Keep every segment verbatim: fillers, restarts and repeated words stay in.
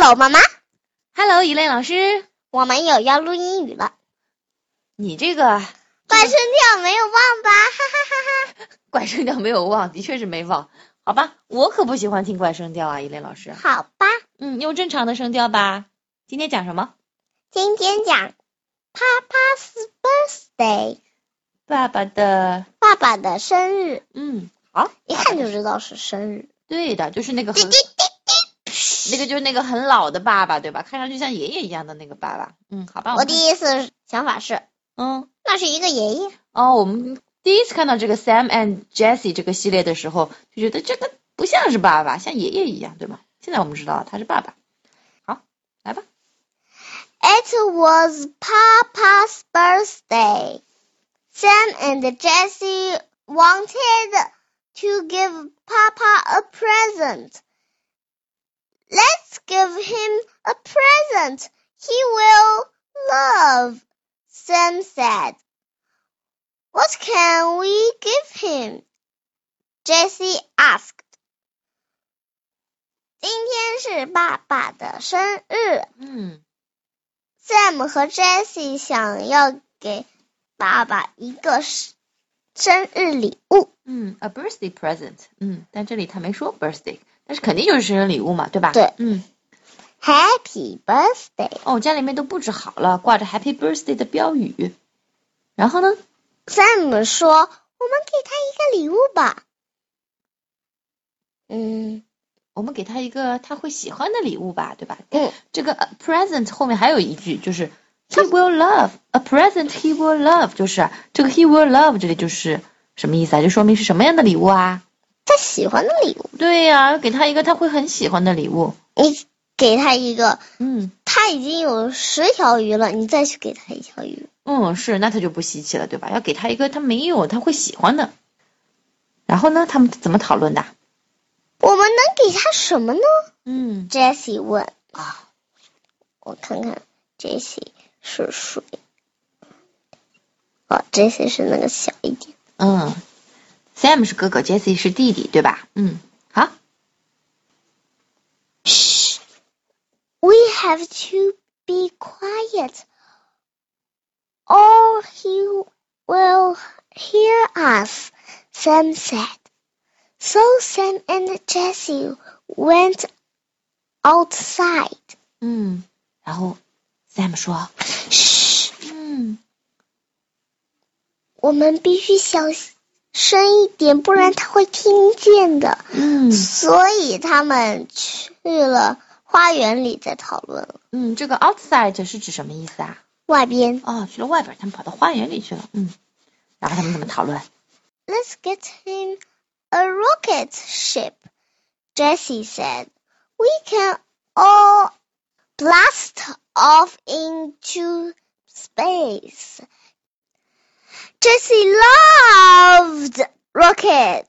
Hello， 妈妈。 Hello， 一类老师， 我们有要录英语了。 你这个怪声调没有忘吧？哈哈哈哈。 怪声调没有忘，的确是没忘。好吧，我可不喜欢听怪声调啊，一类老师。 好吧。 嗯，用正常的声调吧。今天讲什么？ 今天讲 Papa's birthday。 爸爸的爸爸的生日。 嗯，好， 一看就知道是生日。 对的，就是那个很那个就是那个很老的爸爸，对吧？看上去像爷爷一样的那个爸爸。嗯，好吧。 我第一次想法是， 嗯， 那是一个爷爷。 哦，我们第一次看到这个 Sam and Jessie 这个系列的时候，就觉得这个不像是爸爸，像爷爷一样，对吗？现在我们知道他是爸爸。好，来吧。 It was Papa's birthday. Sam and Jessie wanted to give Papa a present. Let's give him a present he will love, Sam said. What can we give him? Jessie asked. 今天是爸爸的生日。 嗯 Sam 和 Jessie 想要给爸爸一个生日礼物。 嗯 ，a birthday present。嗯，但这里他没说 birthday， 但是肯定就是生日礼物嘛，对吧？ 对。 嗯 ，Happy birthday。 哦，家里面都布置好了，挂着 Happy birthday 的标语。然后呢 ？Sam 说：“我们给他一个礼物吧。”嗯。 我们给他一个他会喜欢的礼物吧，对吧？ 嗯， 这个 a present 后面还有一句，就是 he will love a present he will love， 就是这个 he will love 这里就是什么意思啊？就说明是什么样的礼物啊？ 他喜欢的礼物。 对呀、啊，给他一个他会很喜欢的礼物。 你给他一个， 嗯， 他已经有十条鱼了，你再去给他一条鱼。 嗯，是，那他就不稀奇了，对吧？要给他一个他没有他会喜欢的。然后呢，他们怎么讨论的？ 我们能给他什么呢？ 嗯 ，Jessie 问。 啊， 我看看 ，Jessie 是谁？哦 ，Jessie 是那个小一点。 嗯 ，Sam 是哥哥 ，Jessie 是弟弟，对吧？嗯，好。 Shh, we have to be quiet, or he will hear us, Sam said. So Sam and Jessie went outside. 嗯，然后 Sam 说， 嘘， 嗯， 我们必须小声一点，不然他会听见的。 嗯， 所以他们去了花园里再讨论了。 嗯，这个 outside 是指什么意思啊？ 外边。 哦，去了外边，他们跑到花园里去了。嗯，然后他们怎么讨论 ？Let's get him a rocket ship, Jessie said. We can all blast off into space. Jessie loved rockets.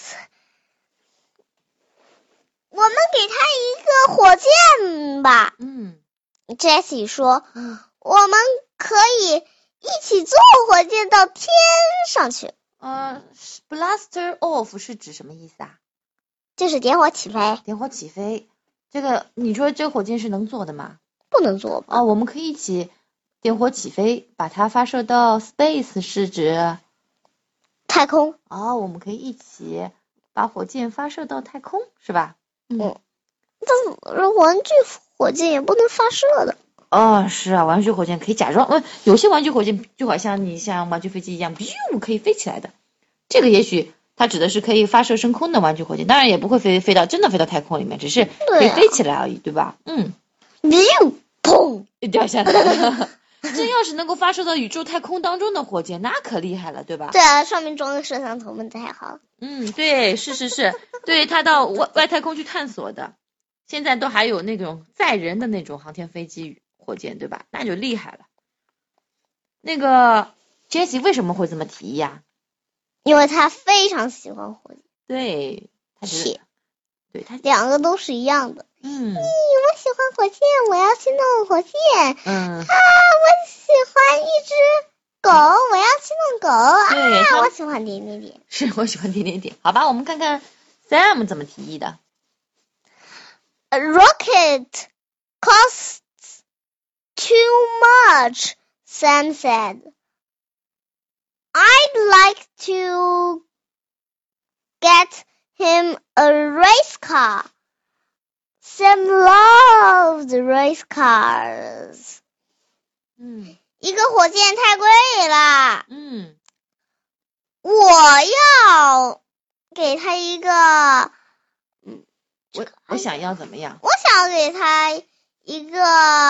我们给他一个火箭吧。 嗯 Jessie 说， 嗯， 我们可以一起坐火箭到天上去。 呃 ，blaster off 是指什么意思啊？ 就是点火起飞。 点火起飞。这个你说这个火箭是能做的吗？ 不能做吧？ 哦，我们可以一起点火起飞，把它发射到 space 是指太空。 哦，我们可以一起把火箭发射到太空，是吧？ 嗯。但是玩具火箭也不能发射的。 哦，是啊，玩具火箭可以假装，呃，有些玩具火箭就好像你像玩具飞机一样，咻可以飞起来的。这个也许它指的是可以发射升空的玩具火箭，当然也不会飞飞到真的飞到太空里面，只是可以飞起来而已，对吧？嗯。 咻，砰， 掉下来了。这要是能够发射到宇宙太空当中的火箭，那可厉害了，对吧？ 对啊，上面装个摄像头们太好了。 嗯，对，是是是，对，它到外外太空去探索的。现在都还有那种载人的那种航天飞机火箭，对吧？那就厉害了。那个 Jessie 为什么会这么提议呀、啊？ 因为他非常喜欢火箭。 对，他觉得，对他两个都是一样的。 嗯， 咦，我喜欢火箭，我要去弄火箭。 嗯， 啊，我喜欢一只狗，我要去弄狗。 对， 啊，我喜欢点点点。 是我喜欢点点点。好吧，我们看看 Sam 怎么提议的。 A rocket costs too much, Sam said. I'd like to get him a race car. Sam loved race cars. 嗯一个火箭太贵了， 嗯我要给他一个， 我我想要怎么样我想给他一个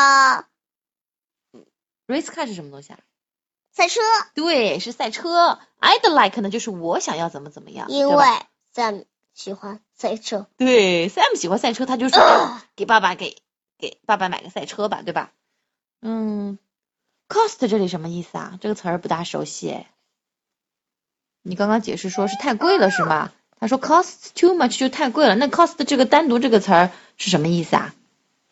？Race car 是什么东西啊？ 赛车， 对，是赛车。I'd like 呢，就是我想要怎么怎么样， 因对吧为 Sam 喜欢赛车。 对 Sam 喜欢赛车，他就说、哎、给爸爸给给爸爸买个赛车吧，对吧？嗯 ，cost 这里什么意思啊？这个词儿不大熟悉哎。你刚刚解释说是太贵了是吗？他说 cost too much 就太贵了，那 cost 这个单独这个词儿是什么意思啊？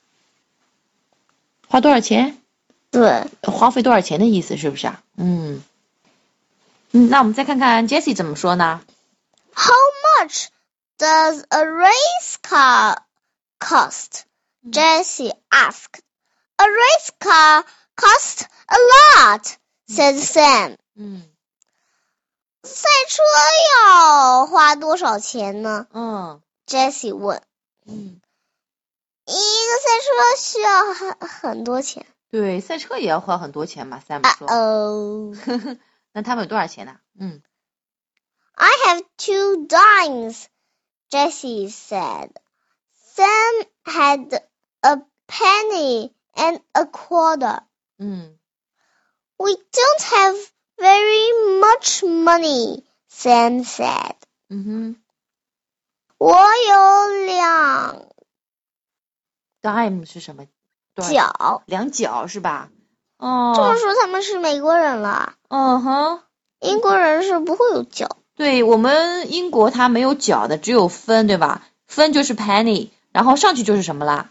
花多少钱？ 对， 花费多少钱的意思是不是啊？嗯，嗯，那我们再看看 Jessie 怎么说呢 How much does a race car cost? Jessie asked. A race car costs a lot, said Sam. 嗯赛车要花多少钱呢？ 嗯 Jessie 问。 嗯， 一个赛车需要很很多钱。 对，赛车也要花很多钱嘛 ，Sam 说。 哦、 那他们有多少钱呢？嗯 I have two dimes, Jessie said. Sam had a penny and a quarter. 嗯 We don't have very much money, Sam said. 嗯哼我有两 ，dime 是什么？多少角。 两角是吧？ 这么哦， 说他们是美国人了， 嗯哼， 英国人是不会有角。 对我们英国它没有角的，只有分，对吧？分就是 penny，然后上去就是什么啦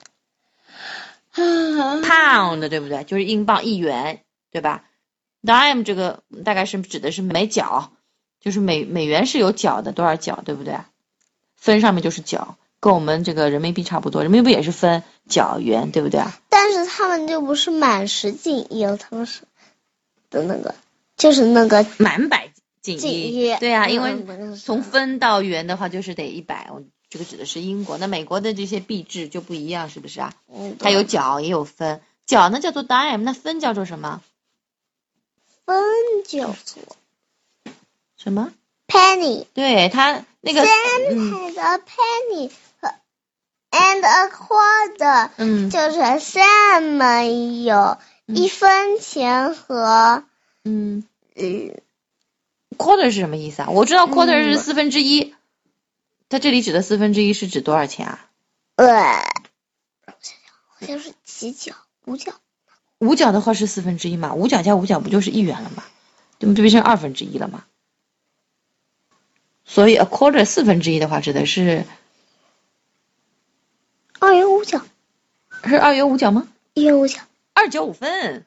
？pound，对不对？就是英镑一元，对吧 ？dime 这个大概是指的是每角，就是美美元是有角的，多少角，对不对？分上面就是角，跟我们这个人民币差不多，人民币也是分角元，对不对？ 但是他们就不是满十进一，他们是的那个，就是那个满百锦锦一， 一对啊， 嗯因为嗯从分到元的话就是得一百，这个指的是英国，那美国的这些币制就不一样，是不是啊？ 嗯， 它有角也有分，角呢叫做 dime，那分叫做什么？ 分叫做什么？ penny。 对，它那个 Sam 嗯 had a penny and a quarter， 嗯就是 Sam 有一分钱和嗯嗯 quarter 是什么意思啊？我知道 quarter 嗯是四分之一，它这里指的四分之一是指多少钱啊？ 呃，我想想，好像是几角，五角。 五角的话是四分之一嘛，五角加五角不就是一元了吗？对不对？变成二分之一了嘛？所以 a quarter 四分之一的话指的是二元五角， 是二元五角吗？ 一元五角。 二角五分。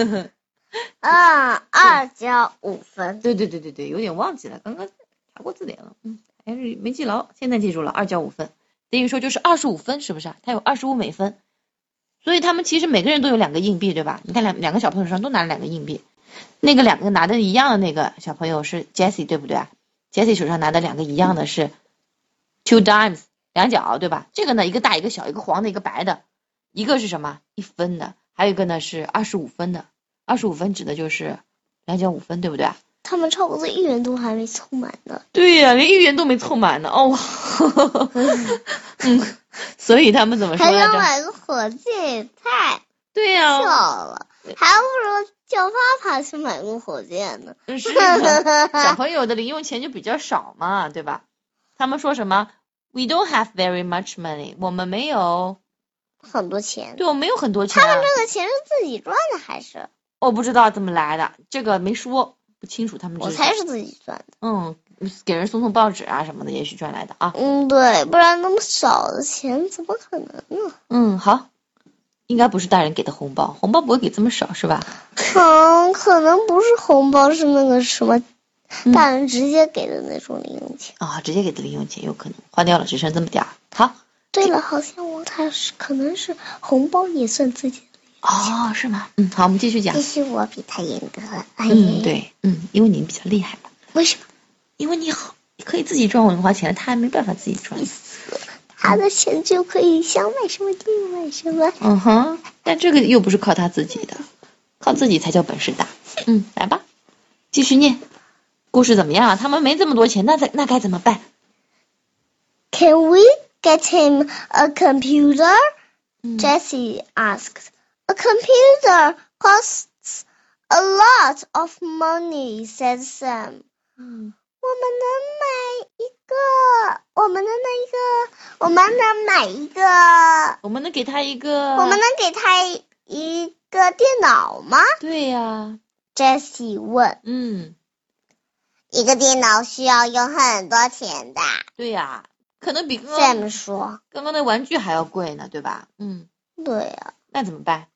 啊，二角五分。 对对对对对，有点忘记了，刚刚查过字典了，嗯，还是没记牢，现在记住了，二角五分，等于说就是二十五分，是不是啊？它有二十五美分，所以他们其实每个人都有两个硬币，对吧？你看两两个小朋友手上都拿了两个硬币，那个两个拿的一样的那个小朋友是 Jessie， 对不对？Jessie 手上拿的两个一样的是 two dimes， 两角，对吧？这个呢，一个大一个小，一个黄的，一个白的，一个是什么？一分的，还有一个呢是二十五分的，二十五分指的就是两角五分，对不对？ 他们差不多一元都还没凑满呢。 对呀、啊，连一元都没凑满呢，哦，嗯，所以他们怎么说还来着？ 要买个火箭也太对呀、 笑了，还不如叫爸爸去买个火箭呢。 是的，小朋友的零用钱就比较少嘛，对吧？他们说什么 ？We don't have very much money， 我们没有很多钱。 对，我没有很多钱、啊。 他们这个钱是自己赚的还是？ 我不知道怎么来的，这个没说，不清楚他们。 我猜是自己赚的。 嗯，给人送送报纸啊什么的，也许赚来的啊。 嗯，对，不然那么少的钱怎么可能呢？ 嗯，好，应该不是大人给的红包，红包不会给这么少是吧？ 嗯，可能不是红包，是那个什么嗯大人直接给的那种零用钱。 啊、直接给的零用钱有可能花掉了，只剩这么点儿。好。 对了，好像我他是可能是红包也算自己的。 哦，是吗？嗯，好，我们继续讲。 继续，我比他严格。哎嗯，对，嗯，因为你比较厉害嘛。 为什么？ 因为你好，可以自己赚零花钱，他还没办法自己赚。 他的钱就可以想买什么就买什么。 嗯哼，但这个又不是靠他自己的，靠自己才叫本事大。嗯，来吧，继续念。故事怎么样啊？他们没这么多钱，那在那该怎么办 ？Can we get him a computer? 嗯 Jessie asked. A computer costs a lot of money, said Sam. 嗯我们能买一个，我们能买一个，我们能买一个， 我们能给他一个， 我们能给他一个电脑吗？ 对呀、 Jessie 问。 嗯， 一个电脑需要用很多钱的。 对呀、可能比刚刚 Sam 说。 刚刚的玩具还要贵呢，对吧？嗯， 对呀、 那怎么办？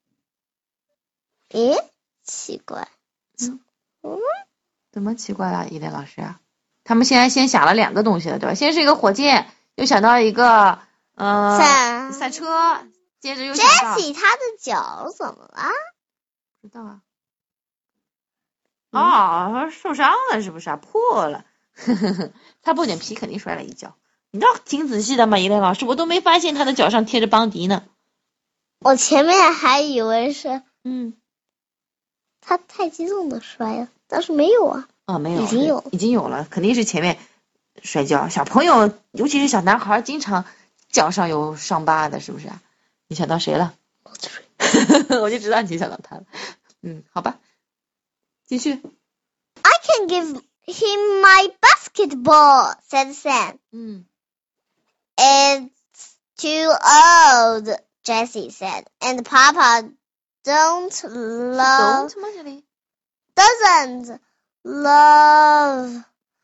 诶，奇怪。 嗯嗯怎么奇怪了，伊莲老师啊？他们现在先想了两个东西了，对吧？先是一个火箭，又想到一个呃赛赛车，接着又想到 Jessie 他的脚怎么了？ 不知道啊。 嗯哦，受伤了是不是啊？破了，他破点皮肯定摔了一跤。你倒挺仔细的嘛，伊莲老师，我都没发现他的脚上贴着邦迪呢。 我前面还以为是嗯， 他太激动的摔了，但是没有啊。 哦，没有， 已经有已经有了，肯定是前面摔跤。小朋友，尤其是小男孩，经常脚上有伤疤的，是不是啊？你想到谁了？我就知道你想到他了。嗯，好吧，继续。 I can give him my basketball, said Sam. 嗯 It's too old, Jessie said. And Papa don't love, 懂吗？这里 doesn't love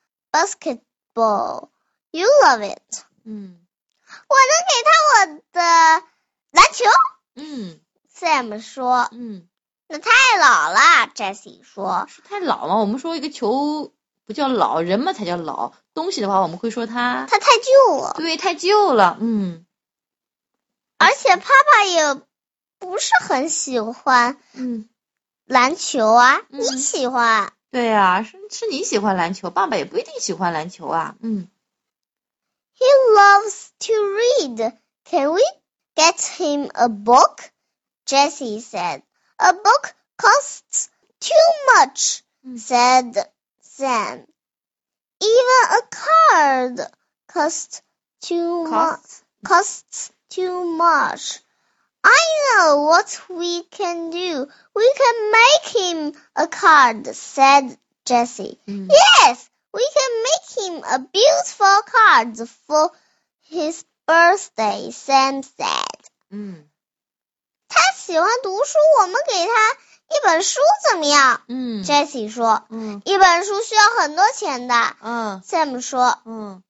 basketball. You love it. 嗯我能给他我的篮球嗯 ，Sam 说。 嗯， 那太老了，Jessie 说。 是太老了。我们说一个球不叫老，人嘛才叫老。东西的话，我们会说它他太旧了， 对太旧了。嗯而且爸爸也不是很喜欢嗯， 篮球啊。 嗯你喜欢？ 对呀、啊，是是你喜欢篮球，爸爸也不一定喜欢篮球啊。嗯 He loves to read. Can we get him a book? Jessie said. A book costs too much, Mm. said Sam. Even a card costs too much. cost Costs too much. I know what we can do. We can make him a card, said Jessie. 嗯 Yes, we can make him a beautiful card for his birthday, Sam said. 嗯他喜欢读书，我们给他一本书怎么样？ 嗯 Jessie 说。 嗯一本书需要很多钱的。 嗯 Sam 说。 嗯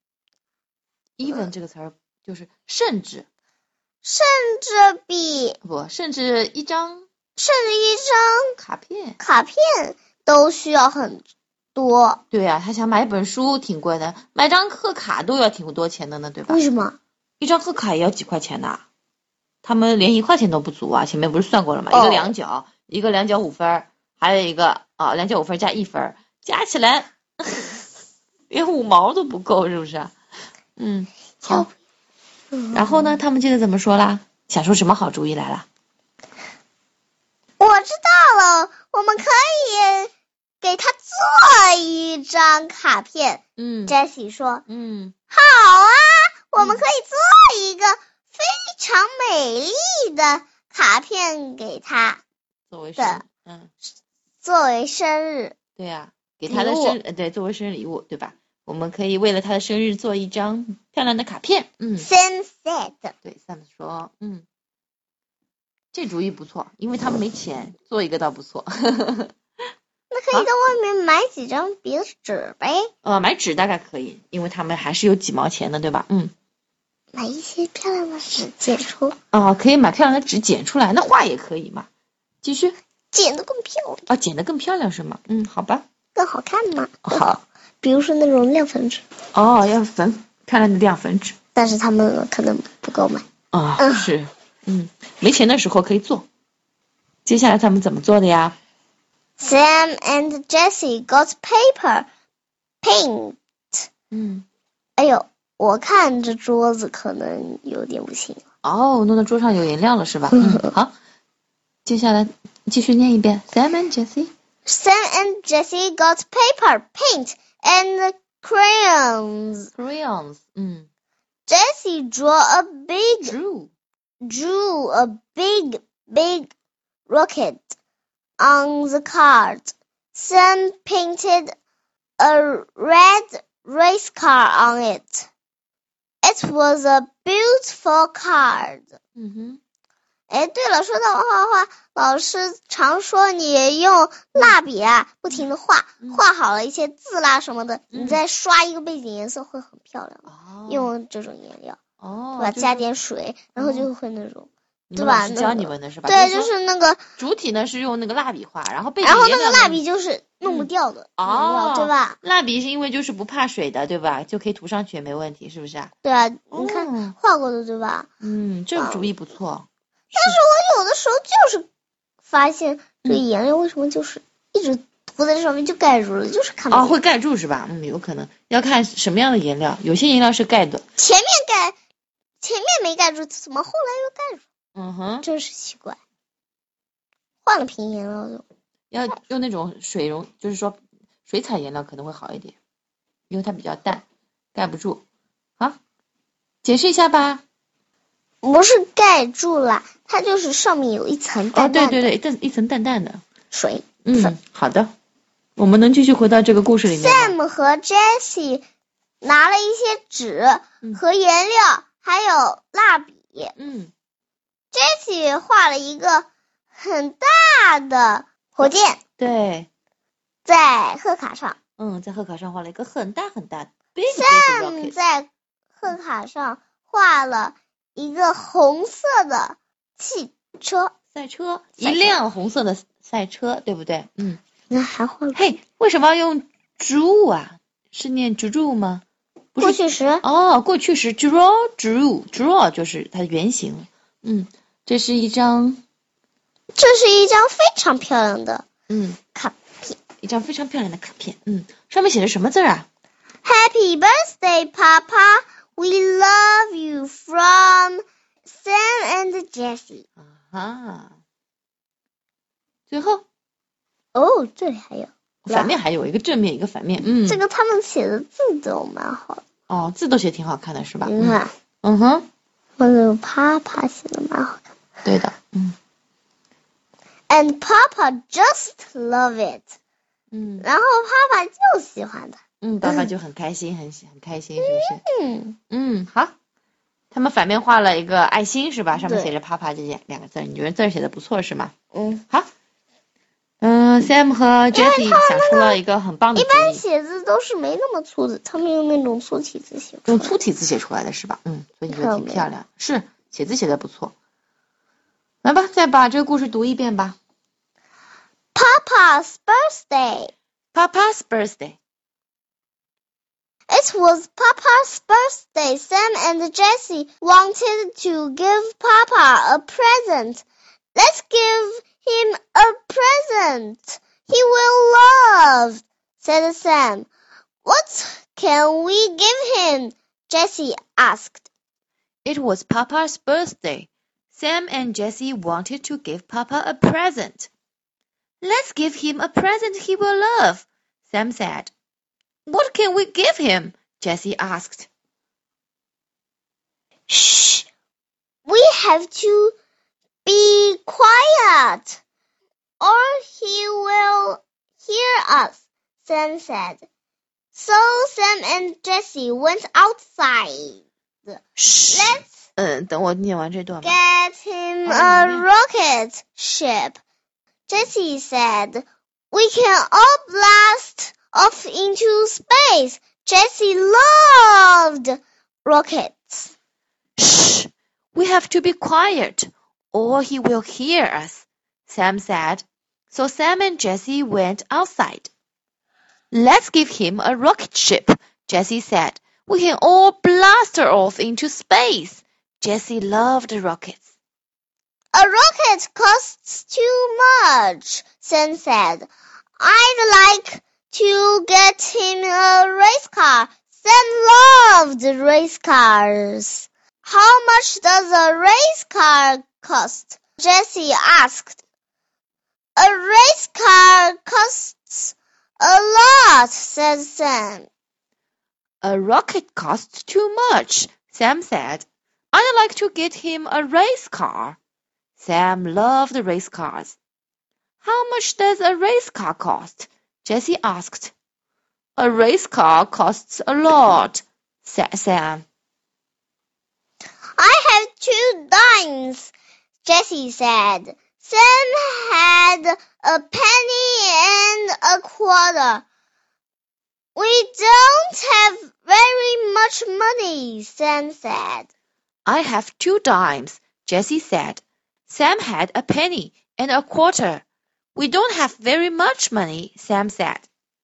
even 这个词儿就是甚至甚至比不甚至一张甚至一张卡片。 卡片都需要很多。 对呀、啊，他想买一本书挺贵的，买张贺卡都要挺多钱的呢，对吧？ 为什么？ 一张贺卡也要几块钱呢，他们连一块钱都不足啊！前面不是算过了吗？ 哦一个两角，一个两角五分，还有一个啊两角五分加一分，加起来连五毛都不够，是不是？嗯，好。然后呢，他们接着怎么说啦？想出什么好主意来了？ 我知道了，我们可以给他做一张卡片。 嗯 Jessie 说。 嗯好啊，我们可以做一个非常美丽的卡片给他， 作为生嗯作为生日。 对呀、啊，给他的礼物生呃对作为生日礼物，对吧？我们可以为了他的生日做一张漂亮的卡片。嗯， Sam said. 对 Sam 说，嗯，这主意不错，因为他们没钱，做一个倒不错。 那可以在外面买几张别的纸呗， 呃，买纸大概可以，因为他们还是有几毛钱的，对吧？嗯， 买一些漂亮的纸剪出， 哦，可以买漂亮的纸剪出来，那画也可以嘛。继续， 剪得更漂亮， 哦，剪得更漂亮是吗？嗯，好吧。 更好看嘛。 好， 比如说那种亮粉纸。 哦，要粉漂亮的亮粉纸。 但是他们可能不够买。 啊、哦，是，嗯，没钱的时候可以做。接下来他们怎么做的呀 ？Sam and Jessie got paper, paint. 嗯， 哎呦，我看这桌子可能有点不行。 哦，弄到桌上有颜料了是吧？嗯，好，接下来继续念一遍。Sam and Jessie. Sam and Jessie got paper, paint, and crayons. Crayons. 嗯 Jessie drew a big, Drew. drew a big, big rocket on the card. Sam painted a red race car on it. It was a beautiful card. 嗯哼。 哎，对了，说到画画，老师常说你用蜡笔啊，不停的画， 嗯、 画好了一些字啦什么的， 嗯、 你再刷一个背景颜色会很漂亮。 哦、 用这种颜料， 哦， 对吧？ 就是、 加点水，然后就会那种， 哦、 对吧？ 教你们的是吧？ 对， 就就是那个主体呢是用那个蜡笔画，然后背景然后那个蜡笔就是弄不掉的， 嗯、哦， 对吧？ 蜡笔是因为就是不怕水的，对吧？就可以涂上去也没问题，是不是啊？ 对啊，你看、哦、画过的，对吧？ 嗯，这个主意不错。 但是我有的时候就是发现这个颜料为什么就是一直涂在这上面就盖住了，就是看不见。 哦，会盖住是吧？嗯，有可能要看什么样的颜料，有些颜料是盖的。 前面盖，前面没盖住，怎么后来又盖住？ 嗯哼， 真是奇怪。换了瓶颜料就要用那种水溶，就是说水彩颜料可能会好一点，因为它比较淡，盖不住。好，解释一下吧。 不是盖住了，它就是上面有一层淡淡的。 哦，对对对，一层淡淡的水。 嗯，好的。我们能继续回到这个故事里面吗 ？Sam 和 Jessie 拿了一些纸和颜料，嗯、还有蜡笔。 嗯 ，Jessie 画了一个很大的火箭。 对， 在贺卡上。 嗯，在贺卡上画了一个很大很大的。 Sam 在贺卡上画了一个红色的汽车， 赛车，一辆红色的赛车，对不对？嗯， 那还画了。 嘿，为什么要用 drew 啊？是念 drew 吗？不是过去时。 哦，过去时 draw drew draw 就是它的原型。嗯，这是一张， 这是一张非常漂亮的嗯卡片， 一张非常漂亮的卡片。嗯，上面写着什么字啊 ？Happy birthday, Papa. We love you from Sam and Jessie. 啊，最后哦，这里还有反面，还有一个正面，一个反面。嗯， 这个他们写的字都蛮好的。 哦，字都写挺好看的，是吧？ 你看， 嗯哼， 我那个 Papa 写的蛮好看。 对的，嗯。 And Papa just love it. 嗯， 然后爸爸就喜欢它。 嗯，爸爸就很开心，很很开心，是不是？ 嗯嗯，好。他们反面画了一个爱心，是吧？上面写着“啪啪”这两个字，你觉得字写的不错是吗？ 嗯， 好。嗯 ，Sam 和 Jessie 想出了一个很棒的主意。 一般写字都是没那么粗的，他们用那种粗体字写出来。 用粗体字写出来的是吧？嗯，所以你觉得挺漂亮，是写字写的不错。来吧，再把这个故事读一遍吧。 Papa's birthday. Papa's birthday. It was Papa's birthday. Sam and Jessie wanted to give Papa a present. Let's give him a present he will love, said Sam. What can we give him? Jessie asked. It was Papa's birthday. Sam and Jessie wanted to give Papa a present. Let's give him a present he will love, Sam said. What can we give him? Jessie asked. Shh! We have to be quiet, or he will hear us, Sam said. So Sam and Jessie went outside. Shh! Let's 嗯，等我念完这段吧。 get him a rocket ship, Jessie said. We can all blast off into space. Jessie loved rockets. Shh! We have to be quiet, or he will hear us, Sam said. So Sam and Jessie went outside. Let's give him a rocket ship, Jessie said. We can all blast off into space. Jessie loved rockets. A rocket costs too much, Sam said. I'd like to get him a race car. Sam loved race cars. How much does a race car cost? Jessie asked. A race car costs a lot, said Sam. A rocket costs too much, Sam said. I'd like to get him a race car. Sam loved race cars. How much does a race car cost? Jessie asked. A race car costs a lot, said Sam. I have two dimes, Jessie said. Sam had a penny and a quarter. We don't have very much money, Sam said. I have two dimes, Jessie said. Sam had a penny and a quarter. We don't have very much money, Sam said.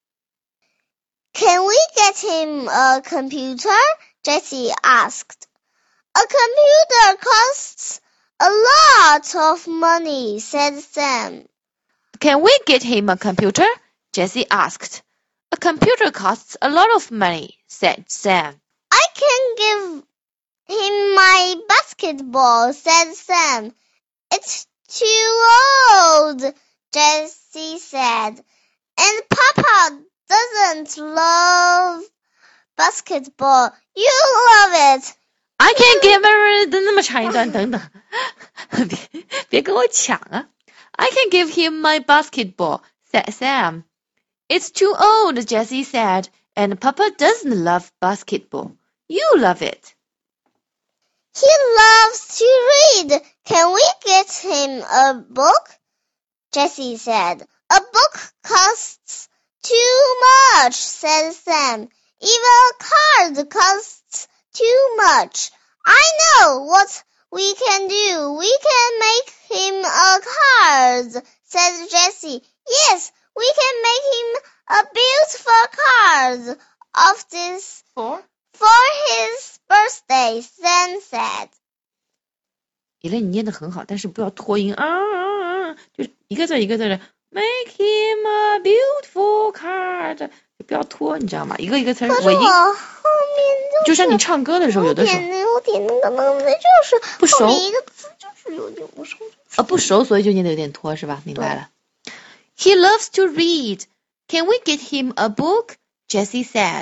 Can we get him a computer? Jessie asked. A computer costs a lot of money, said Sam. Can we get him a computer? Jessie asked. A computer costs a lot of money, said Sam. I can give him my basketball, said Sam. It's too old, Jessie said. And Papa doesn't love basketball. You love it. I can't give him 那么长一段，等等，别别跟我抢啊 I can give him my basketball, said Sam. It's too old, Jessie said, and Papa doesn't love basketball. You love it. He loves to read. Can we get him a book? Jessie said. A book costs too much, said Sam. Even a card costs too much. I know what we can do. We can make him a card, said Jessie. Yes, we can make him a beautiful card of this For? for his birthday, Sam said. 以类你念得很好，但是不要拖音啊啊啊！就是一个字一个字的 ，Make him a beautiful card，就不要拖，你知道吗？一个一个词尾音。 可是我后面就像你唱歌的时候，有的时候有点那个能力，就是不熟后面一个字就是有点不熟。 啊不熟，所以就念得有点拖，是吧？明白了。He loves to read. Can we get him a book? Jessie said.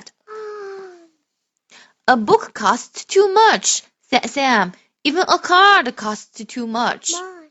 A book costs too much, said Sam. Even a card costs too much.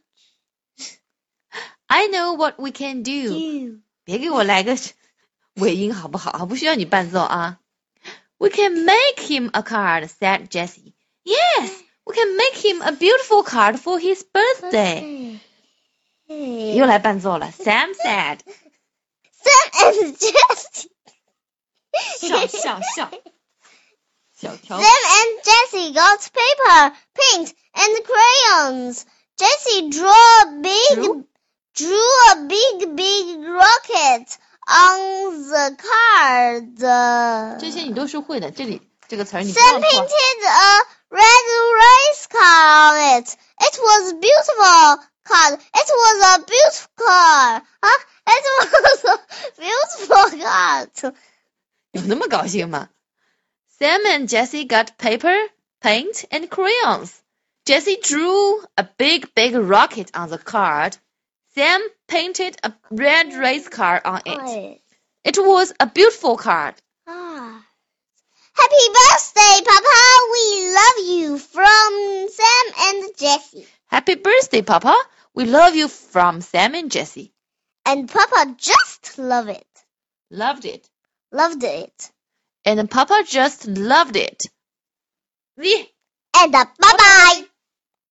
I know what we can do. 别给我来个尾音好不好？不需要你伴奏啊。We can make him a card, said Jessie. Yes, we can make him a beautiful card for his birthday. 又来伴奏了。Sam said. Sam and Jessie. 笑笑笑。小条 Sam and Jessie got paper, paint, and crayons. Jessie drew a big, Drew? drew a big, big rocket on the card. 这些你都是会的，这里这个词儿你不 Sam 用错。 painted a red race car on it. It was beautiful card. It was a beautiful car. Huh? It was a beautiful card. 有那么高兴吗？ Sam and Jessie got paper, paint, and crayons. Jessie drew a big, big rocket on the card. Sam painted a red race car on it. It was a beautiful card. Ah. Happy birthday, Papa. We love you. From Sam and Jessie. Happy birthday, Papa. We love you from Sam and Jessie. And Papa just loved it. Loved it. Loved it. And Papa just loved it. The And uh, bye-bye.